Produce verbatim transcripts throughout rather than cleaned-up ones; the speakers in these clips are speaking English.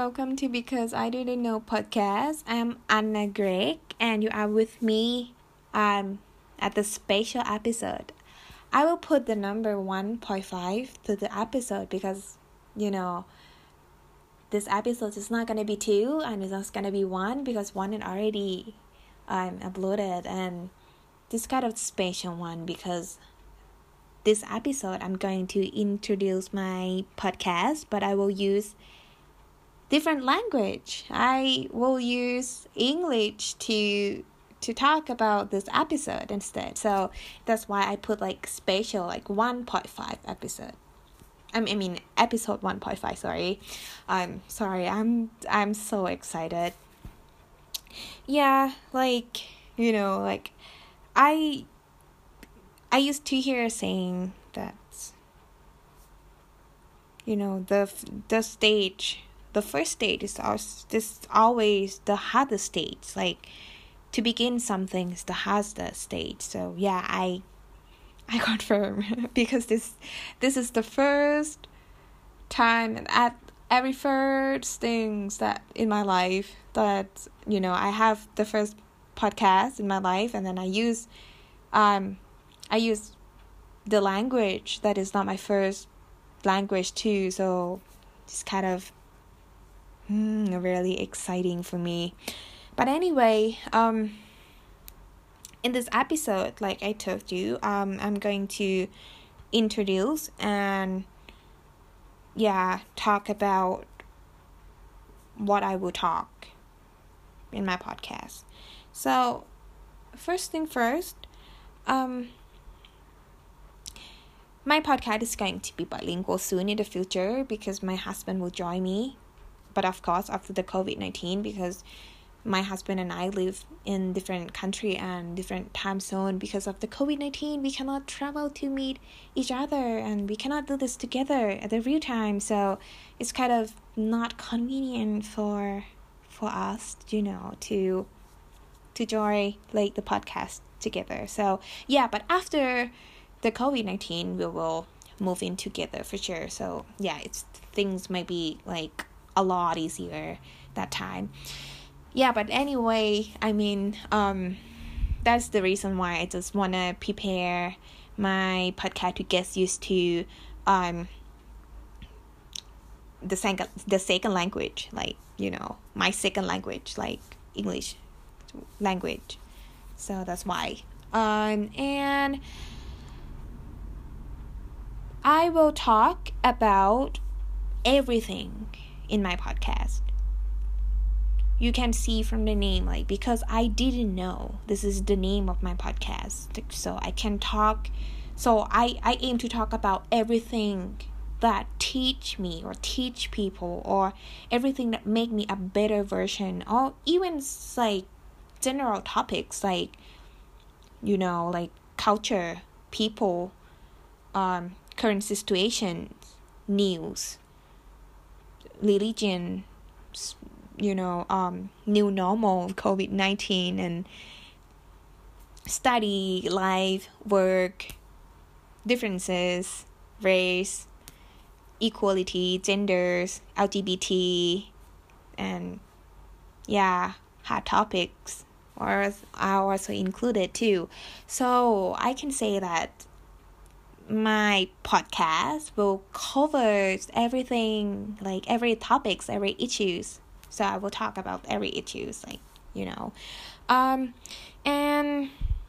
welcome to Because I Didn't Know podcast. I'm Anna Greg and you are with me um, at the special episode. I will put the number one point five to the episode because, you know, this episode is not going to be two and it's not going to be one because one is already um, uploaded, and this kind of special one because this episode I'm going to introduce my podcast, but I will use different language. I will use English to to talk about this episode instead. So that's why I put like special, like one point five episode. I mean, I mean episode one point five, sorry. I'm sorry. I'm I'm so excited. Yeah, like, you know, like I I used to hear saying that, you know, the the stage, the first stage is this always the hardest stage. Like, to begin something is the hardest stage. So yeah, I I confirm because this this is the first time at every first things that in my life that, you know, I have the first podcast in my life, and then I use um. I use the language that is not my first language too, so it's kind of hmm, really exciting for me. But anyway, um, in this episode, like I told you, um, I'm going to introduce and yeah, talk about what I will talk in my podcast. So, first thing first, um. my podcast is going to be bilingual soon in the future because my husband will join me. But of course, after the covid nineteen, because my husband and I live in different country and different time zone because of the covid nineteen. We cannot travel to meet each other and we cannot do this together at the real time. So it's kind of not convenient for for us, you know, to to join like the podcast together. So yeah, but after the covid nineteen, we will move in together for sure. So yeah, it's things might be like a lot easier that time. Yeah, but anyway, I mean, um, that's the reason why I just wanna prepare my podcast to get used to um the second the second language, like, you know, my second language, like English language. So that's why. Um and I will talk about everything in my podcast. You can see from the name, like, because I didn't know this is the name of my podcast. So I can talk, so I, I aim to talk about everything that teach me or teach people, or everything that make me a better version, or even like general topics like, you know, like culture, people, um, current situations, news, religion, you know, um, new normal, covid nineteen, and study, life, work, differences, race, equality, genders, L G B T, and yeah, hot topics are also included too. So I can say that my podcast will cover everything, like every topics, every issues. So I will talk about every issues, like, you know, um, and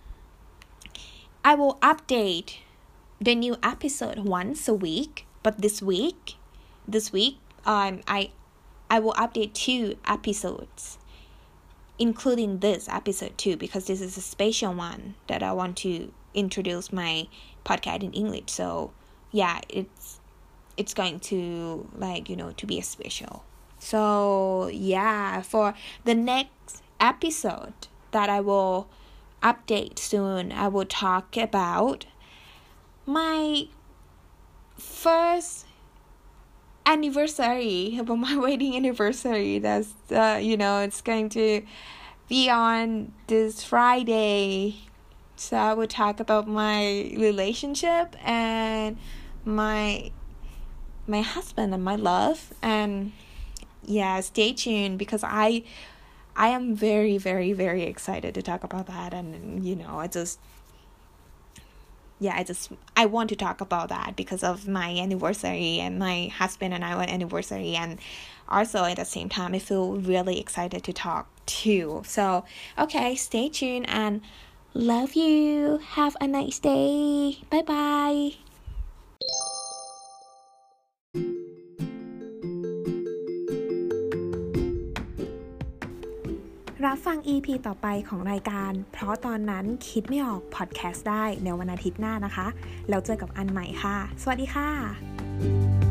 I will update the new episode once a week. But this week, this week, um, I, I will update two episodes, including this episode too, because this is a special one that I want to introduce my podcast in English. So yeah, it's it's going to, like, you know, to be a special. So yeah, for the next episode that I will update soon, I will talk about my first anniversary, about my wedding anniversary. That's uh, you know, it's going to be on this Friday. So I will talk about my relationship and my my husband and my love, and yeah, stay tuned because I I am very very very excited to talk about that. And you know, I just yeah I just I want to talk about that because of my anniversary and my husband and our anniversary, and also at the same time I feel really excited to talk too. So okay, stay tuned and love you. Have a nice day. Bye bye.รับฟัง อี พี ต่อไปของรายการเพราะตอนนั้นคิดไม่ออกพอดแคสต์ได้ในวันอาทิตย์หน้านะคะแล้วเจอกับอันใหม่ค่ะสวัสดีค่ะ